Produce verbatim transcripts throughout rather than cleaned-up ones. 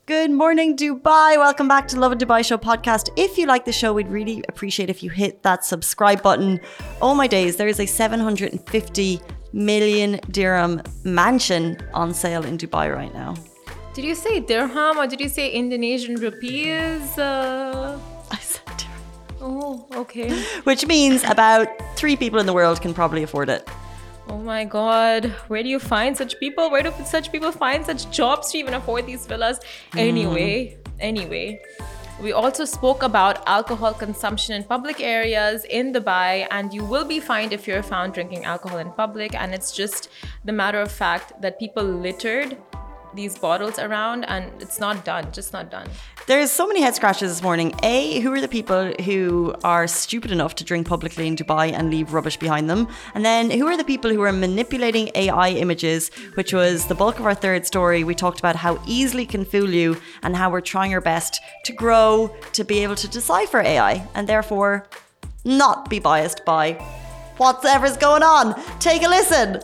Good morning, Dubai. Welcome back to Lovin Dubai Show podcast. If you like the show, we'd really appreciate if you hit that subscribe button. Oh my days, there is a seven hundred fifty million dirham mansion on sale in Dubai right now. Did you say dirham or did you say Indonesian rupees? Uh... I said dirham. Oh, okay. Which means about three people in the world can probably afford it. Oh my God, where do you find such people? Where do such people find such jobs to even afford these villas? Anyway, mm. anyway, we also spoke about alcohol consumption in public areas in Dubai, and you will be fined if you're found drinking alcohol in public. And it's just the matter of fact that people littered these bottles around, and it's not done, just not done. There's so many head scratches this morning. A, who are the people who are stupid enough to drink publicly in Dubai and leave rubbish behind them? And then who are the people who are manipulating A I images, which was the bulk of our third story. We talked about how easily it can fool you and how we're trying our best to grow to be able to decipher A I and therefore not be biased by whatever's going on. Take a listen.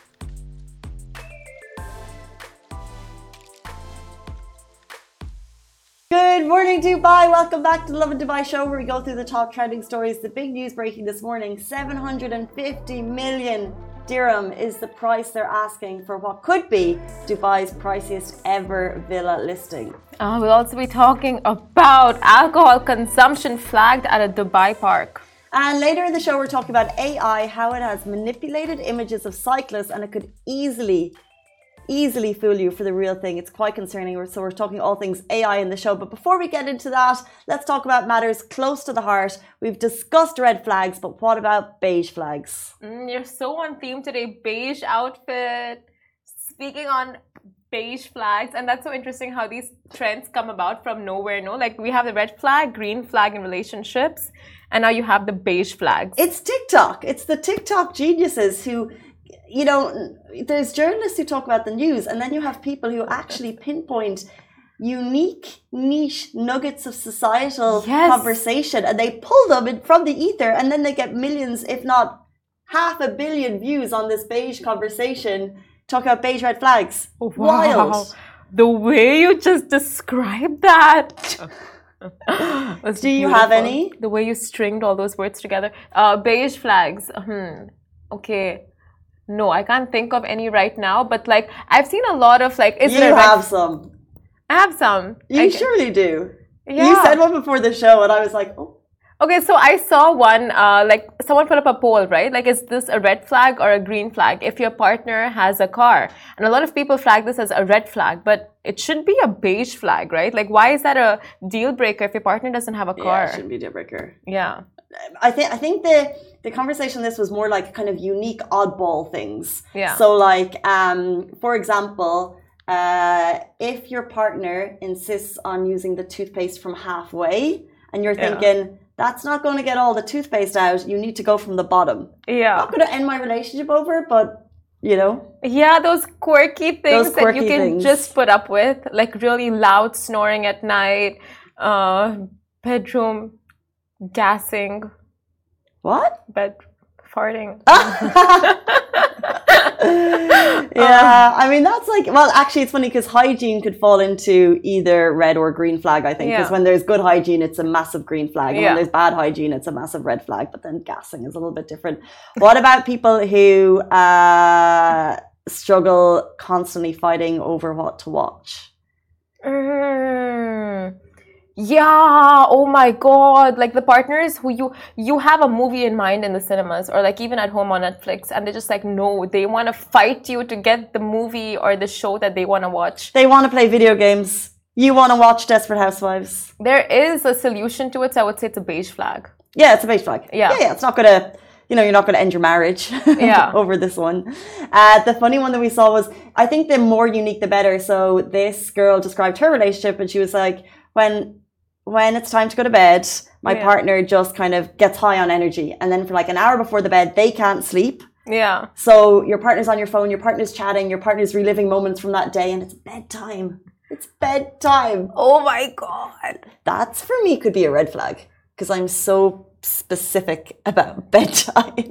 Good morning, Dubai. Welcome back to the Lovin Dubai Show, where we go through the top trending stories. The big news breaking this morning: seven hundred fifty million dirham is the price they're asking for what could be Dubai's priciest ever villa listing. Uh, we'll also be talking about alcohol consumption flagged at a Dubai park. And later in the show, we're talking about A I, how it has manipulated images of cyclists, and it could easily easily fool you for the real thing. It's quite concerning. So we're talking all things A I in the show. But before we get into that, let's talk about matters close to the heart. We've discussed red flags, but what about beige flags? Mm, you're so on theme today. Beige outfit. Speaking on beige flags, and that's so interesting how these trends come about from nowhere. No, like we have the red flag, green flag in relationships, and now you have the beige flags. It's TikTok. It's the TikTok geniuses who, you know, there's journalists who talk about the news, and then you have people who actually pinpoint unique niche nuggets of societal yes. conversation, and they pull them in from the ether, and then they get millions, if not half a billion views on this beige conversation. Talk about beige red flags. Wow. Wild. The way you just described that. Do you beautiful. have any? The way you stringed all those words together. Uh, beige flags. Hmm. Okay. No, I can't think of any right now, but like I've seen a lot of like. Is you there have some. I have some. You I, surely do. Yeah. You said one before the show, and I was like, oh. Okay, so I saw one. Uh, like someone put up a poll, right? Like, is this a red flag or a green flag? If your partner has a car, and a lot of people flag this as a red flag, but it should be a beige flag, right? Like, why is that a deal breaker if your partner doesn't have a car? Yeah, it shouldn't be a deal breaker. Yeah. I think I think the the conversation this was more like kind of unique oddball things. Yeah. So like um for example, uh if your partner insists on using the toothpaste from halfway and you're thinking yeah. that's not going to get all the toothpaste out, you need to go from the bottom. Yeah. I'm not going to end my relationship over it, but you know. Yeah, those quirky things those quirky that you can things. just put up with, like really loud snoring at night, uh bedroom gassing. What? Bed farting. Yeah, I mean that's like, well actually it's funny because hygiene could fall into either red or green flag, I think, because yeah. when there's good hygiene it's a massive green flag, and yeah. when there's bad hygiene it's a massive red flag, but then gassing is a little bit different. What about people who uh, struggle constantly fighting over what to watch? Mm. Yeah, oh my God, like the partners who you you have a movie in mind in the cinemas or like even at home on Netflix, and they just like no, they want to fight you to get the movie or the show that they want to watch. They want to play video games. You want to watch Desperate Housewives. There is a solution to it, so I would say it's a beige flag. Yeah, it's a beige flag. Yeah, yeah, yeah it's not gonna, you know, you're not gonna end your marriage yeah. over this one. Uh, the funny one that we saw was, I think the more unique the better. So this girl described her relationship, and she was like, when when it's time to go to bed, my yeah. partner just kind of gets high on energy. And then for like an hour before the bed, they can't sleep. Yeah. So your partner's on your phone, your partner's chatting, your partner's reliving moments from that day, and it's bedtime. It's bedtime. Oh my God. That's for me could be a red flag because I'm so specific about bedtime.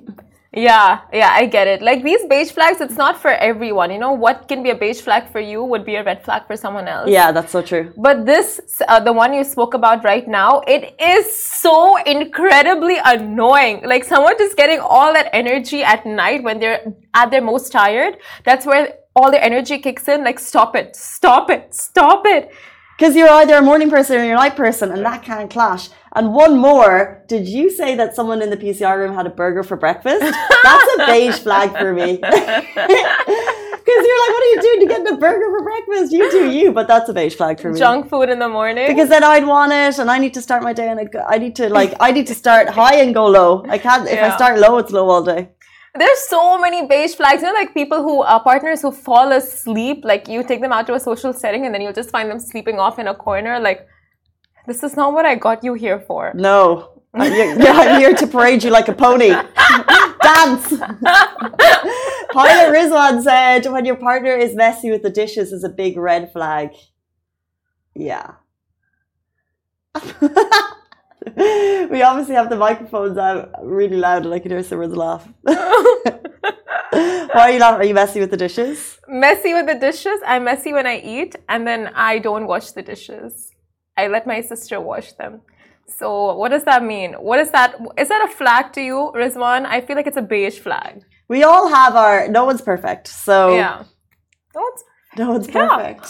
Yeah, yeah, I get it. Like these beige flags, it's not for everyone. You know, what can be a beige flag for you would be a red flag for someone else. Yeah, that's so true. But this, uh, the one you spoke about right now, it is so incredibly annoying. Like someone just getting all that energy at night when they're at their most tired. That's where all their energy kicks in. Like, stop it, stop it, stop it. Because you're either a morning person or you're a night person, and that can't clash. And one more, did you say that someone in the P C R room had a burger for breakfast? That's a beige flag for me. Because you're like, what are you doing to get a burger for breakfast? You do you, but that's a beige flag for me. Junk food in the morning. Because then I'd want it, and I need to start my day, and I need to like, I need to start high and go low. I can't, if Yeah. I start low, it's low all day. There's so many beige flags. You know, like people who are partners who fall asleep, like you take them out to a social setting and then you'll just find them sleeping off in a corner. Like, this is not what I got you here for. No. Yeah, I'm here to parade you like a pony. Dance. Pilot Rizwan said, when your partner is messy with the dishes is a big red flag. Yeah. We obviously have the microphones out really loud and I can hear someone's laugh. Why are you laughing? Are you messy with the dishes? Messy with the dishes. I'm messy when I eat and then I don't wash the dishes. I let my sister wash them. So what does that mean? What is that? Is that a flag to you, Rizwan? I feel like it's a beige flag. We all have our, no one's perfect. So Yeah. No, it's no one's Yeah. perfect.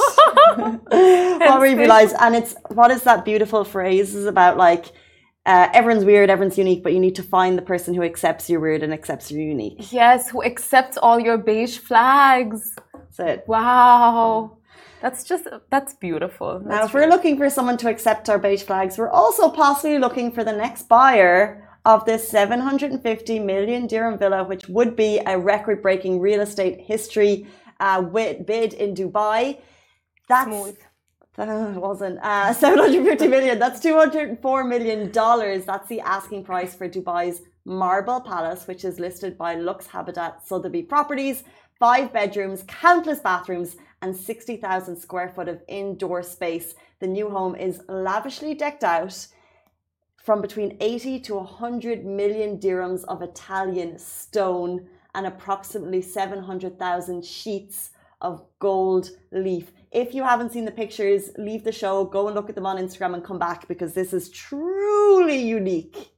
What we realize, and it's, what is that beautiful phrase is about like, uh, everyone's weird, everyone's unique, but you need to find the person who accepts you're weird and accepts you're unique. Yes, who accepts all your beige flags. That's it. Wow. That's just, that's beautiful. That's Now, if we're looking for someone to accept our beige flags, we're also possibly looking for the next buyer of this seven hundred fifty million dirham villa, which would be a record-breaking real estate history uh, bid in Dubai. That's smooth. Uh, it wasn't. Uh, seven hundred fifty million. That's two hundred four million dollars. That's the asking price for Dubai's Marble Palace, which is listed by Lux Habitat Sotheby's Properties. Five bedrooms, countless bathrooms, and sixty thousand square foot of indoor space. The new home is lavishly decked out from between eighty to one hundred million dirhams of Italian stone and approximately seven hundred thousand sheets of gold leaf. If you haven't seen the pictures, leave the show, go and look at them on Instagram and come back because this is truly unique.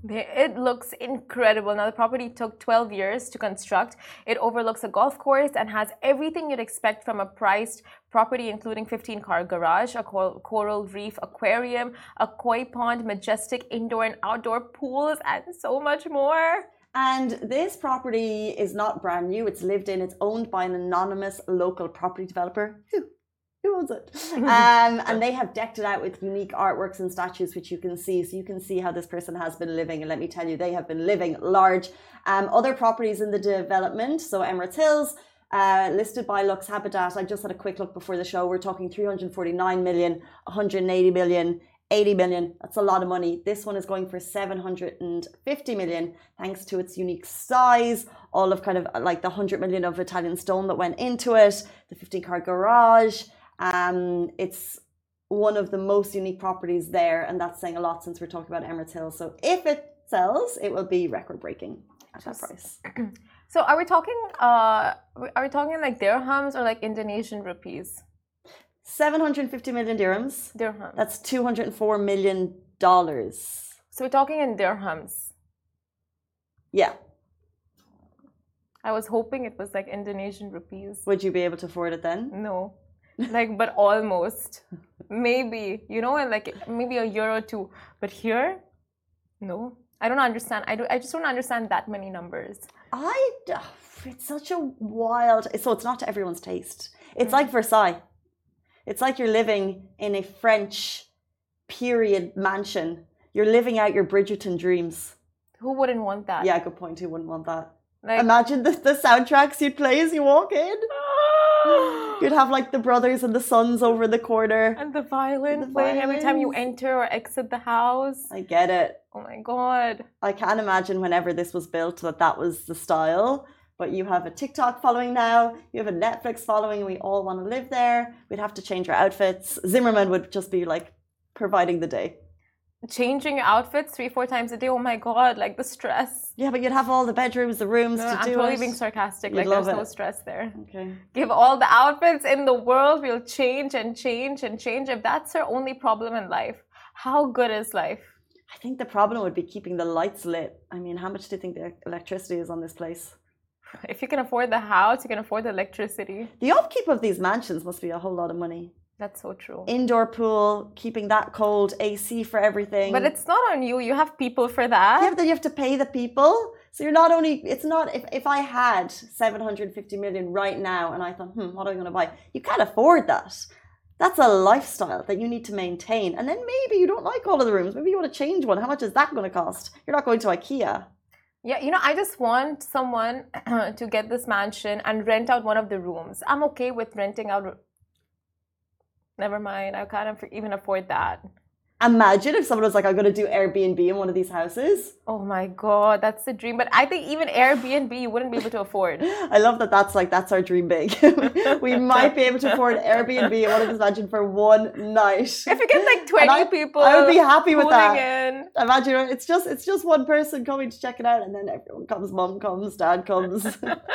It looks incredible. Now, the property took twelve years to construct. It overlooks a golf course and has everything you'd expect from a priced property, including fifteen car garage, a coral reef aquarium, a koi pond, majestic indoor and outdoor pools, and so much more. And this property is not brand new. It's lived in. It's owned by an anonymous local property developer. Who? Who owns it? um, and they have decked it out with unique artworks and statues, which you can see. So you can see how this person has been living. And let me tell you, they have been living large. Um, other properties in the development. So Emirates Hills, uh, listed by Lux Habitat. I just had a quick look before the show. We're talking three hundred forty-nine million, one hundred eighty million, eighty million. That's a lot of money. This one is going for seven hundred fifty million, thanks to its unique size. All of kind of like the one hundred million of Italian stone that went into it, the fifteen car garage. Um, it's one of the most unique properties there, and that's saying a lot since we're talking about Emirates Hill. So if it sells, it will be record breaking at that price. So are we talking? Uh, are we talking like dirhams or like Indonesian rupees? seven hundred fifty million dirhams. Dirhams. That's two hundred four million dollars. So we're talking in dirhams. Yeah. I was hoping it was like Indonesian rupees. Would you be able to afford it then? No. Like, but almost. Maybe, you know, and like maybe a year or two. But here, no. I don't understand. I do. I just don't understand that many numbers. I. It's such a wild. So it's not to everyone's taste. It's mm-hmm. like Versailles. It's like you're living in a French period mansion. You're living out your Bridgerton dreams. Who wouldn't want that? Yeah, good point. Who wouldn't want that? Like, imagine the, the soundtracks you'd play as you walk in. You'd have like the brothers and the sons over the corner. And the violin the playing violins. every time you enter or exit the house. I get it. Oh my God. I can't imagine whenever this was built that that was the style. But you have a TikTok following now. You have a Netflix following. We all want to live there. We'd have to change our outfits. Zimmerman would just be like providing the day. changing your outfits three, four times a day. Oh my God, like the stress. Yeah, but you'd have all the bedrooms, the rooms No, to I'm do totally it. being sarcastic. You'd Like love there's no it. stress there. Okay. Give all the outfits in the world. We'll change and change and change. If that's our only problem in life, how good is life? I think the problem would be keeping the lights lit. I mean, how much do you think the electricity is on this place? If you can afford the house, you can afford the electricity. The upkeep of these mansions must be a whole lot of money. That's so true. Indoor pool, keeping that cold, A C for everything. But it's not on you. You have people for that. Yeah, but then you have to pay the people. So you're not only, it's not, if, if I had seven hundred fifty million right now and I thought, hmm, what am I going to buy? You can't afford that. That's a lifestyle that you need to maintain. And then maybe you don't like all of the rooms. Maybe you want to change one. How much is that going to cost? You're not going to IKEA. Yeah, you know, I just want someone to get this mansion and rent out one of the rooms. I'm okay with renting out. Never mind, I can't even afford that. Imagine if someone was like, I'm going to do Airbnb in one of these houses. Oh my God, that's the dream. But I think even Airbnb, you wouldn't be able to afford. I love that that's like, that's our dream big. We might be able to afford Airbnb in one of these mansions for one night. If you get like twenty I, people, I would be happy with that. In. Imagine it's just it's just one person coming to check it out, and then everyone comes. Mom comes, dad comes.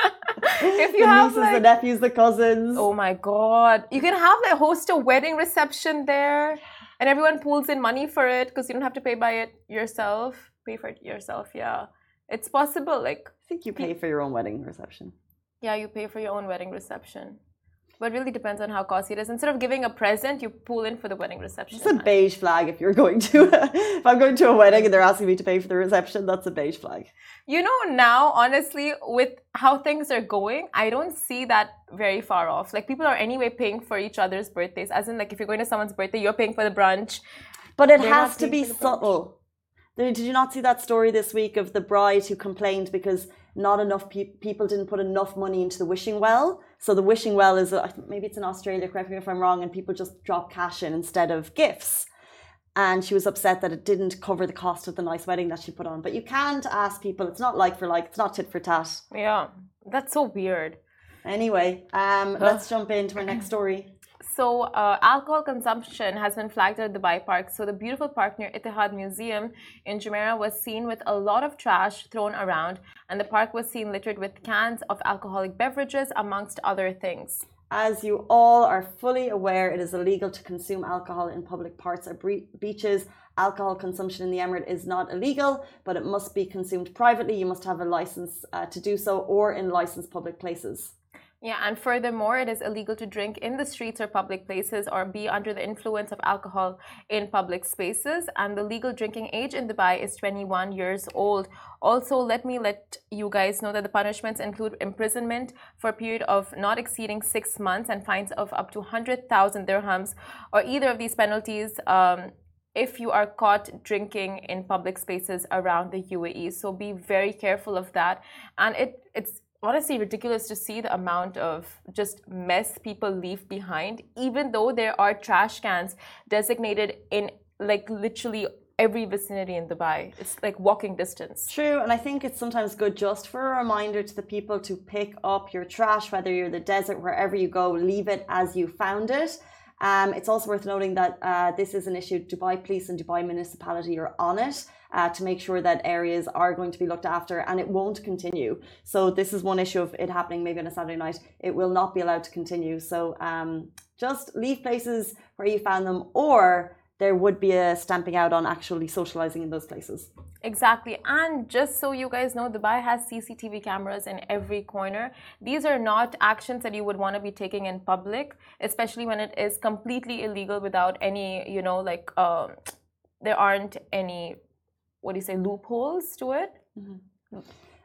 If you the have nieces, like, the nephews, the cousins. Oh my God, you can have like host a wedding reception there. And everyone pools in money for it because you don't have to pay by it yourself. Pay for it yourself, yeah. It's possible. Like I think you pay for your own wedding reception. Yeah, you pay for your own wedding reception. But it really depends on how costly it is. Instead of giving a present, you pool in for the wedding reception. It's a beige flag if you're going to a, if I'm going to a wedding and they're asking me to pay for the reception, that's a beige flag. You know, now, honestly, with how things are going, I don't see that very far off. Like, people are anyway paying for each other's birthdays. As in, like, if you're going to someone's birthday, you're paying for the brunch. But it has to be subtle. Did you not see that story this week of the bride who complained because not enough pe- people didn't put enough money into the wishing well? So the wishing well is, uh, maybe it's in Australia, correct me if I'm wrong, and people just drop cash in instead of gifts. And she was upset that it didn't cover the cost of the nice wedding that she put on. But you can't ask people, it's not like for like, it's not tit for tat. Yeah, that's so weird. Anyway, um, let's jump into our next story. So, uh, alcohol consumption has been flagged at Dubai Park. So, the beautiful park near Ittihad Museum in Jumeirah was seen with a lot of trash thrown around, and the park was seen littered with cans of alcoholic beverages, amongst other things. As you all are fully aware, it is illegal to consume alcohol in public parts or bre- beaches. Alcohol consumption in the Emirate is not illegal, but it must be consumed privately. You must have a license uh, to do so, or in licensed public places. Yeah, and furthermore, it is illegal to drink in the streets or public places or be under the influence of alcohol in public spaces. And the legal drinking age in Dubai is twenty-one years old. Also, let me let you guys know that the punishments include imprisonment for a period of not exceeding six months and fines of up to one hundred thousand dirhams, or either of these penalties um, if you are caught drinking in public spaces around the U A E. So be very careful of that. And it it's honestly ridiculous to see the amount of just mess people leave behind, even though there are trash cans designated in like literally every vicinity in Dubai. It's like walking distance. True, and I think it's sometimes good just for a reminder to the people to pick up your trash, whether you're in the desert, wherever you go, leave it as you found it. Um, it's also worth noting that uh, this is an issue. Dubai Police and Dubai Municipality are on it uh, to make sure that areas are going to be looked after, and it won't continue. So this is one issue of it happening maybe on a Saturday night. It will not be allowed to continue. So um, just leave places where you found them, or there would be a stamping out on actually socializing in those places. Exactly. And just so you guys know, Dubai has C C T V cameras in every corner. These are not actions that you would want to be taking in public, especially when it is completely illegal without any, you know, like um, there aren't any, what do you say, loopholes to it. Mm-hmm.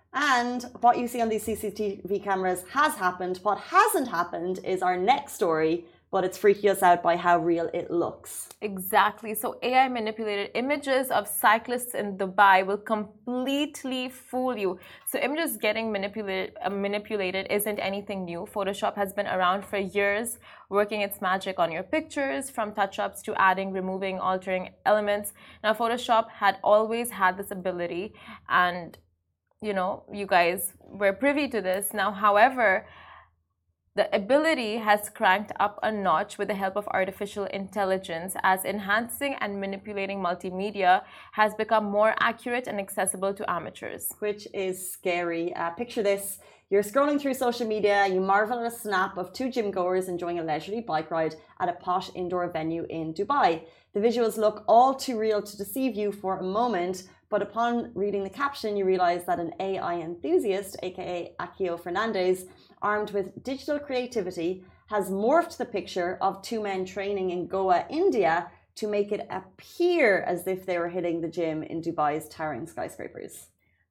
And what you see on these C C T V cameras has happened. What hasn't happened is our next story, but it's freaking us out by how real it looks. Exactly. So A I manipulated images of cyclists in Dubai will completely fool you. So images getting manipulated, uh, manipulated isn't anything new. Photoshop has been around for years, working its magic on your pictures, from touch-ups to adding, removing, altering elements. Now, Photoshop had always had this ability, and you know, you guys were privy to this. Now, however, The ability has cranked up a notch with the help of artificial intelligence, as enhancing and manipulating multimedia has become more accurate and accessible to amateurs. Which is scary. Uh, picture this. You're scrolling through social media, you marvel at a snap of two gym goers enjoying a leisurely bike ride at a posh indoor venue in Dubai. The visuals look all too real to deceive you for a moment, but upon reading the caption, you realize that an A I enthusiast, aka Akio Fernandez, armed with digital creativity, has morphed the picture of two men training in Goa, India, to make it appear as if they were hitting the gym in Dubai's towering skyscrapers.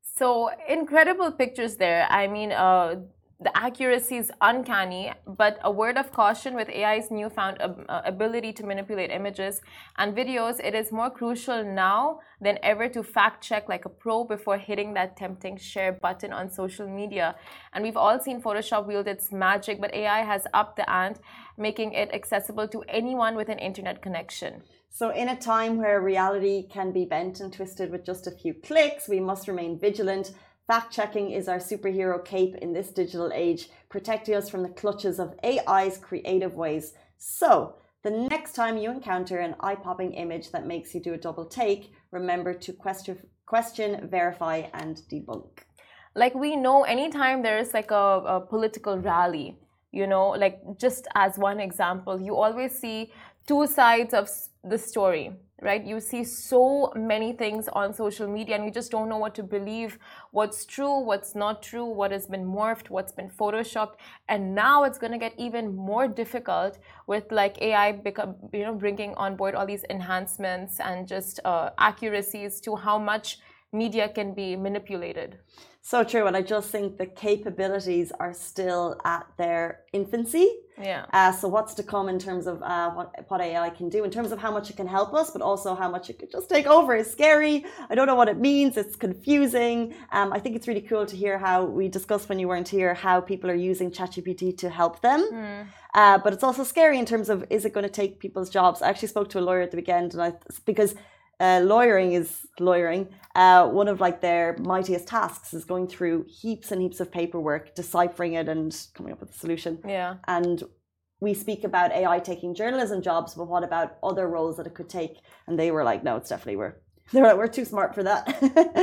So incredible pictures there. I mean, uh, the accuracy is uncanny, but a word of caution with A I's newfound uh, ability to manipulate images and videos, it is more crucial now than ever to fact check like a pro before hitting that tempting share button on social media. And we've all seen Photoshop wield its magic, but A I has upped the ante, making it accessible to anyone with an internet connection. So in a time where reality can be bent and twisted with just a few clicks, we must remain vigilant. Fact-checking is our superhero cape in this digital age, protecting us from the clutches of A I's creative ways. So, the next time you encounter an eye-popping image that makes you do a double take, remember to question, question, verify, and debunk. Like we know, anytime there is like a, a political rally, you know, like just as one example, you always see two sides of the story, right? You see so many things on social media and you just don't know what to believe, what's true, what's not true, what has been morphed, what's been photoshopped. And now it's going to get even more difficult with like A I become, you know, bringing on board all these enhancements and just uh, accuracies to how much media can be manipulated. So true, and I just think the capabilities are still at their infancy. Yeah. Uh, so what's to come in terms of uh, what, what A I can do, in terms of how much it can help us, but also how much it could just take over is scary. I don't know what it means. It's confusing. Um, I think it's really cool to hear how we discussed when you weren't here, how people are using ChatGPT to help them. Mm. Uh, but it's also scary in terms of, is it going to take people's jobs? I actually spoke to a lawyer at the weekend, and I because Uh, lawyering is lawyering. Uh, one of like their mightiest tasks is going through heaps and heaps of paperwork, deciphering it and coming up with a solution. Yeah. And we speak about A I taking journalism jobs, but what about other roles that it could take? And they were like, no, it's definitely we're. They were like, we're too smart for that.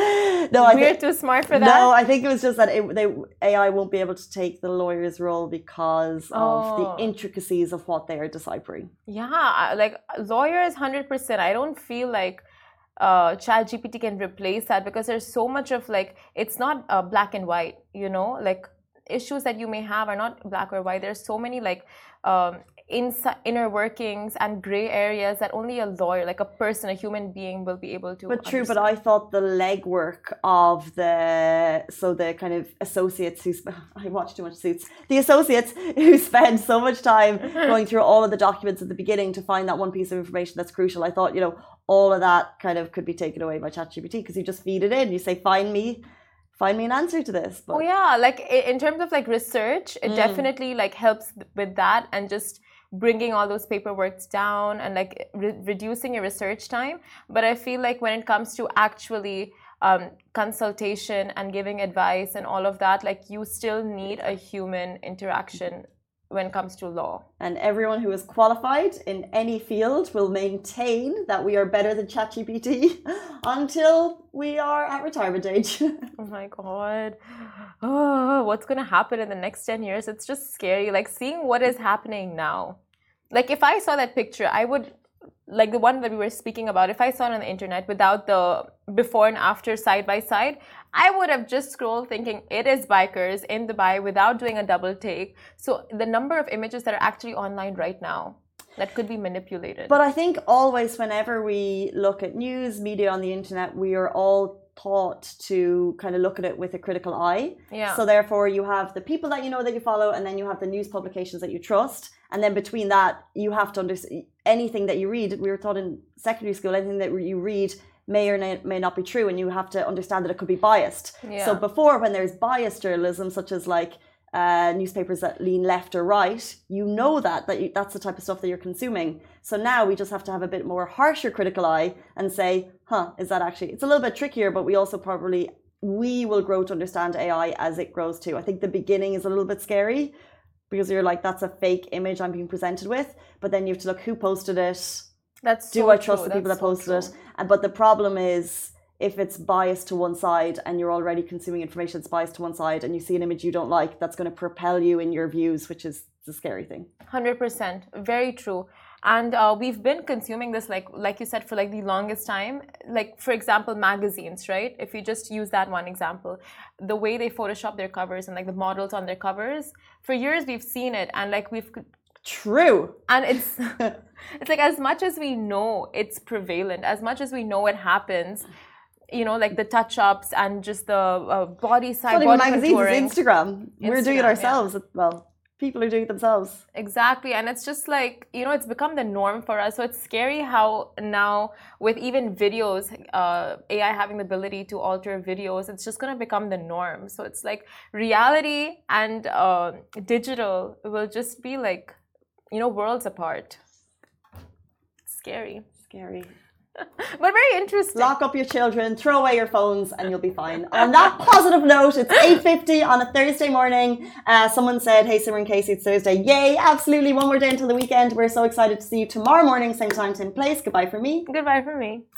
no, I we're think, too smart for that. No, I think it was just that it, they, A I won't be able to take the lawyer's role because oh. of the intricacies of what they are deciphering. Yeah, like lawyers, one hundred percent. I don't feel like uh, ChatGPT can replace that because there's so much of like, it's not uh, black and white, you know, like issues that you may have are not black or white. There's so many like um, ins- inner workings and gray areas that only a lawyer, like a person, a human being will be able to But true, understand. but I thought the legwork of the, so the kind of associates who, I watch too much Suits, the associates who spend so much time going through all of the documents at the beginning to find that one piece of information that's crucial. I thought, you know, all of that kind of could be taken away by ChatGPT because you just feed it in, you say, find me, find me an answer to this. But... Oh yeah, like in terms of like research, it mm. definitely like helps with that and just bringing all those paperworks down and like re- reducing your research time. But I feel like when it comes to actually um, consultation and giving advice and all of that, like you still need a human interaction when it comes to law. And everyone who is qualified in any field will maintain that we are better than ChatGPT until we are at retirement age. Oh my God. Oh, what's going to happen in the next ten years? It's just scary. Like seeing what is happening now. Like if I saw that picture, I would, like the one that we were speaking about, if I saw it on the internet without the before and after side by side, I would have just scrolled thinking it is bikers in Dubai without doing a double take. So the number of images that are actually online right now that could be manipulated. But I think always whenever we look at news, media on the internet, we are all taught to kind of look at it with a critical eye. Yeah. So therefore you have the people that you know that you follow, and then you have the news publications that you trust. And then between that, you have to understand anything that you read. We were taught in secondary school, anything that you read may or may not be true, and you have to understand that it could be biased. Yeah. So before, when there's biased journalism, such as like uh, newspapers that lean left or right, you know that, that you, that's the type of stuff that you're consuming. So now we just have to have a bit more harsher critical eye and say, huh, is that actually, it's a little bit trickier, but we also probably, we will grow to understand A I as it grows too. I think the beginning is a little bit scary, because you're like, that's a fake image I'm being presented with. But then you have to look who posted it. That's do so I trust true. the people That's that posted so it? And but the problem is, if it's biased to one side and you're already consuming information that's biased to one side, and you see an image you don't like, that's going to propel you in your views, which is the scary thing. one hundred percent. Very true. And uh, we've been consuming this, like like you said, for like the longest time. Like, for example, magazines, right? If you just use that one example, the way they Photoshop their covers and like the models on their covers, for years we've seen it, and like we've True. And it's it's like, as much as we know it's prevalent, as much as we know it happens, you know, like the touch-ups and just the uh, body side, it's not body even magazines, contouring. it's Instagram. We're doing it Instagram, ourselves. Yeah. Well, people are doing it themselves. Exactly. And it's just like, you know, it's become the norm for us. So it's scary how now with even videos, uh, A I having the ability to alter videos, it's just going to become the norm. So it's like reality and uh, digital will just be like, you know, worlds apart. Scary. Scary. But very interesting. Lock up your children, throw away your phones, and you'll be fine. On that positive note, it's eight fifty on a Thursday morning. Uh, someone said, hey, Simran Casey, it's Thursday. Yay, absolutely. One more day until the weekend. We're so excited to see you tomorrow morning, same time, same place. Goodbye from me. Goodbye from me.